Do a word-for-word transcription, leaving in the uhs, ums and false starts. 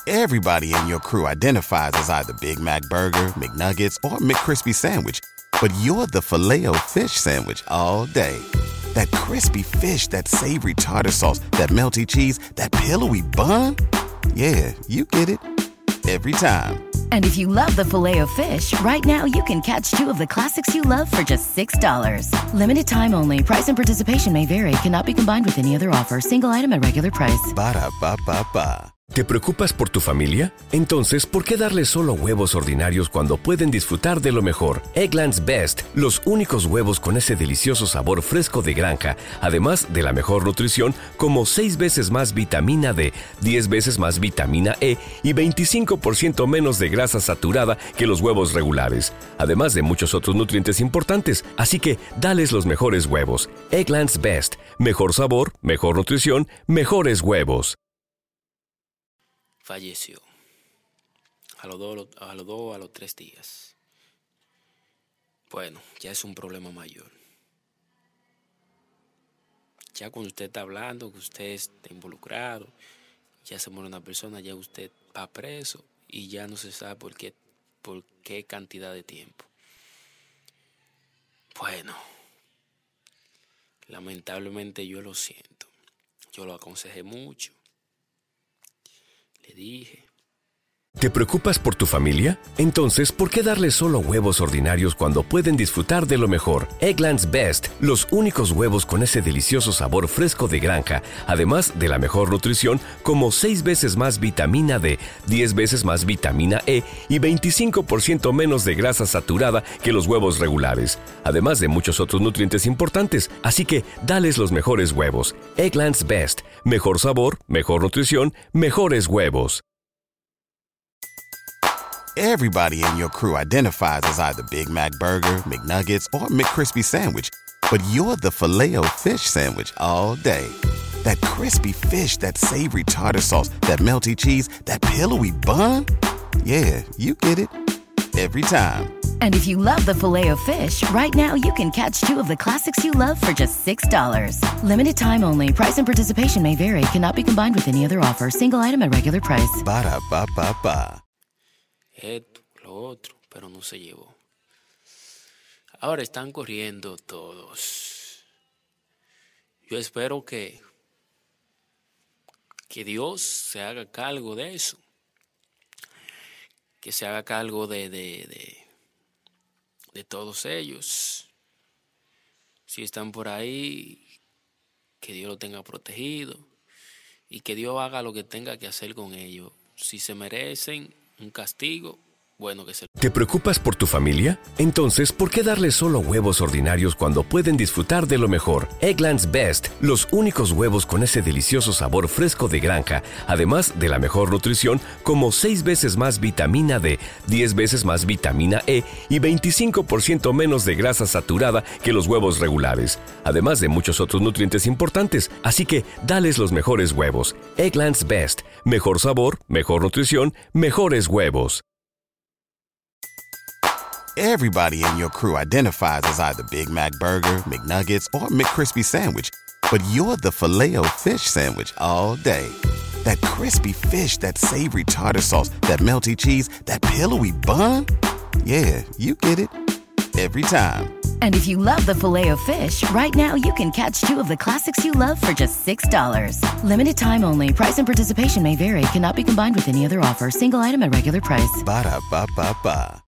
Everybody in your crew identifies as either Big Mac Burger, McNuggets, or McCrispy Sandwich. But you're the Filet-O-Fish Sandwich all day. That crispy fish, that savory tartar sauce, that melty cheese, that pillowy bun. Yeah, you get it. Every time. And if you love the Filet-O-Fish, right now you can catch two of the classics you love for just six dollars. Limited time only. Price and participation may vary. Cannot be combined with any other offer. Single item at regular price. Ba-da-ba-ba-ba. ¿Te preocupas por tu familia? Entonces, ¿por qué darles solo huevos ordinarios cuando pueden disfrutar de lo mejor? Eggland's Best, los únicos huevos con ese delicioso sabor fresco de granja, además de la mejor nutrición, como seis veces más vitamina D, diez veces más vitamina E y veinticinco por ciento menos de grasa saturada que los huevos regulares, además de muchos otros nutrientes importantes. Así que, dales los mejores huevos. Eggland's Best, mejor sabor, mejor nutrición, mejores huevos. Falleció a los dos, a los dos, a los tres días. Bueno, ya es un problema mayor. Ya cuando usted está hablando, que usted está involucrado, ya se muere una persona, ya usted va preso y ya no se sabe por qué, por qué cantidad de tiempo. Bueno, lamentablemente yo lo siento. Yo lo aconsejé mucho. Le dije. ¿Te preocupas por tu familia? Entonces, ¿por qué darles solo huevos ordinarios cuando pueden disfrutar de lo mejor? Eggland's Best, los únicos huevos con ese delicioso sabor fresco de granja, además de la mejor nutrición, como seis veces más vitamina D, diez veces más vitamina E y veinticinco por ciento menos de grasa saturada que los huevos regulares, además de muchos otros nutrientes importantes. Así que, dales los mejores huevos. Eggland's Best, mejor sabor, mejor nutrición, mejores huevos. Everybody in your crew identifies as either Big Mac Burger, McNuggets, or McCrispy Sandwich. But you're the Filet-O-Fish Sandwich all day. That crispy fish, that savory tartar sauce, that melty cheese, that pillowy bun. Yeah, you get it. Every time. And if you love the Filet-O-Fish, right now you can catch two of the classics you love for just six dollars. Limited time only. Price and participation may vary. Cannot be combined with any other offer. Single item at regular price. Ba-da-ba-ba-ba. Esto, lo otro, pero no se llevó. Ahora están corriendo todos. Yo espero que, que Dios se haga cargo de eso. Que se haga cargo de, de, de, de todos ellos. Si están por ahí, que Dios lo tenga protegido. Y que Dios haga lo que tenga que hacer con ellos. Si se merecen un castigo, bueno que se... ¿Te preocupas por tu familia? Entonces, ¿por qué darles solo huevos ordinarios cuando pueden disfrutar de lo mejor? Eggland's Best, los únicos huevos con ese delicioso sabor fresco de granja, además de la mejor nutrición, como seis veces más vitamina D, diez veces más vitamina E y veinticinco por ciento menos de grasa saturada que los huevos regulares, además de muchos otros nutrientes importantes. Así que, dales los mejores huevos. Eggland's Best, mejor sabor, mejor nutrición, mejores huevos. Everybody in your crew identifies as either Big Mac Burger, McNuggets, or McCrispy Sandwich. But you're the Filet-O-Fish Sandwich all day. That crispy fish, that savory tartar sauce, that melty cheese, that pillowy bun. Yeah, you get it. Every time. And if you love the Filet-O-Fish, right now you can catch two of the classics you love for just six dollars. Limited time only. Price and participation may vary. Cannot be combined with any other offer. Single item at regular price. Ba-da-ba-ba-ba.